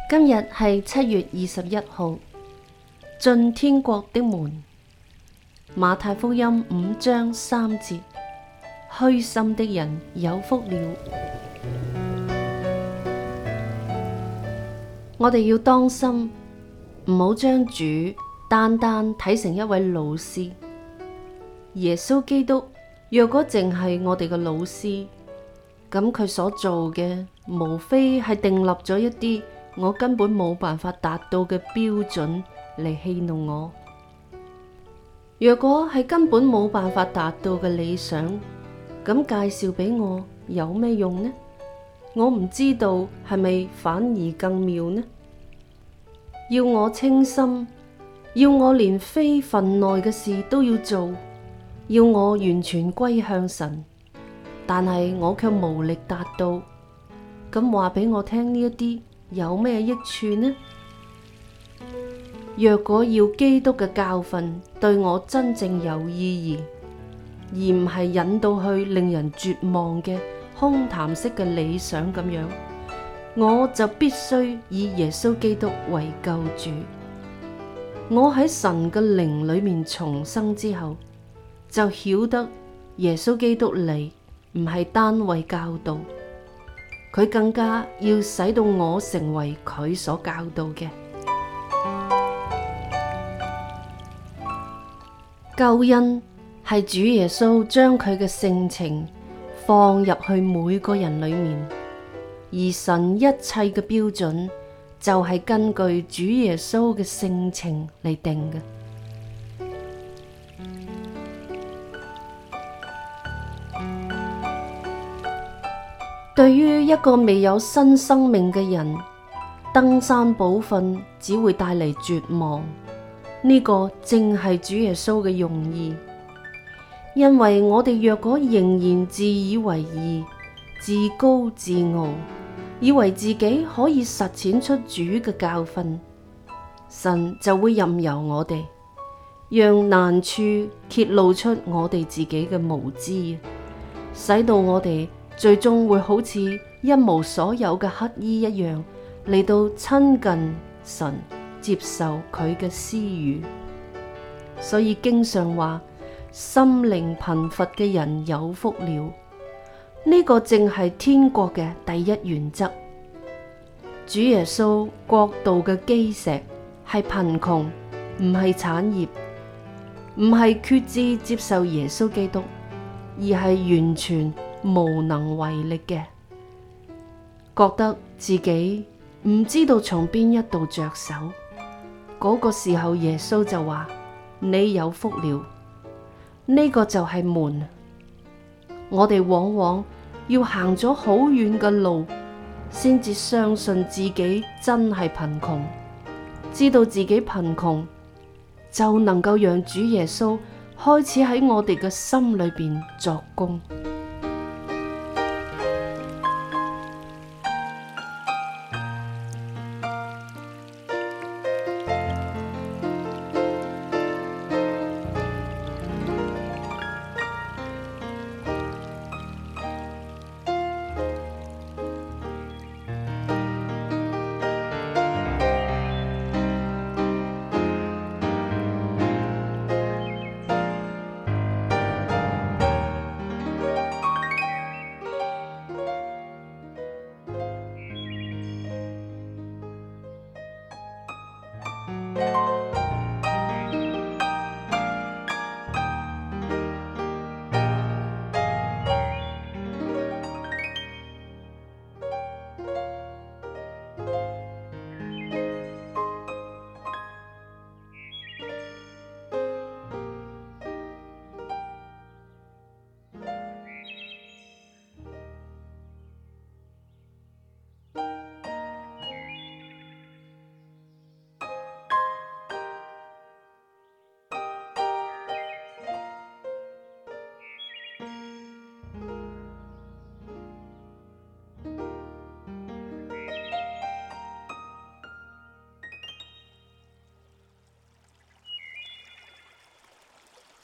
今日係7月21號，進天國的門。馬太福音5章3節，虛心的人有福了。我哋要當心，唔好將主單單睇成一位老師。耶穌基督若果淨係我哋嘅老師，咁佢所做嘅無非係訂立咗一啲我根本冇辦法達到嘅標準嚟戲弄我。若果係根本冇辦法達到嘅理想，咁介紹俾我有咩用呢？我唔知道係咪反而更妙呢？要我清心，要我連非份內嘅事都要做，要我完全歸向神，但係我卻無力達到。咁話俾我聽呢一啲有咩益處呢？若果要基督嘅教訓對我真正有意義，而唔係引導去令人絕望嘅空談式嘅理想咁樣，我就必須以耶穌基督為救主。我喺神嘅靈裏面重生之後，就曉得耶穌基督嚟唔係單為教導，佢更加要使到我成為佢所教導嘅。救恩係主耶穌將佢嘅性情放入去每個人裏面，而神一切嘅標準就係根據主耶穌嘅性情嚟定嘅。對於一個未有新生命嘅人，登山寶訓只會帶嚟絕望。呢個正係主耶穌嘅用意，因為我哋若果仍然自以為義、自高自傲，以為自己可以實踐出主嘅教訓，神就會任由我哋，讓難處揭露出我哋自己嘅無知，使到我哋最終會好似一無所有嘅乞衣一樣嚟到親近神，接受佢嘅私語。所以經常話心靈貧乏嘅人有福了。呢個正係天國嘅第一原則。主耶穌國度嘅基石係貧窮，唔係產業，唔係決志接受耶穌基督，而係完全無能為力嘅，覺得自己唔知道從邊一度着手。嗰個時候耶穌就話：你有福了。呢個就係門。我哋往往要行咗好遠嘅路，先至相信自己真係貧窮，知道自己貧窮，就能夠讓主耶穌開始喺我哋嘅心裏邊作工。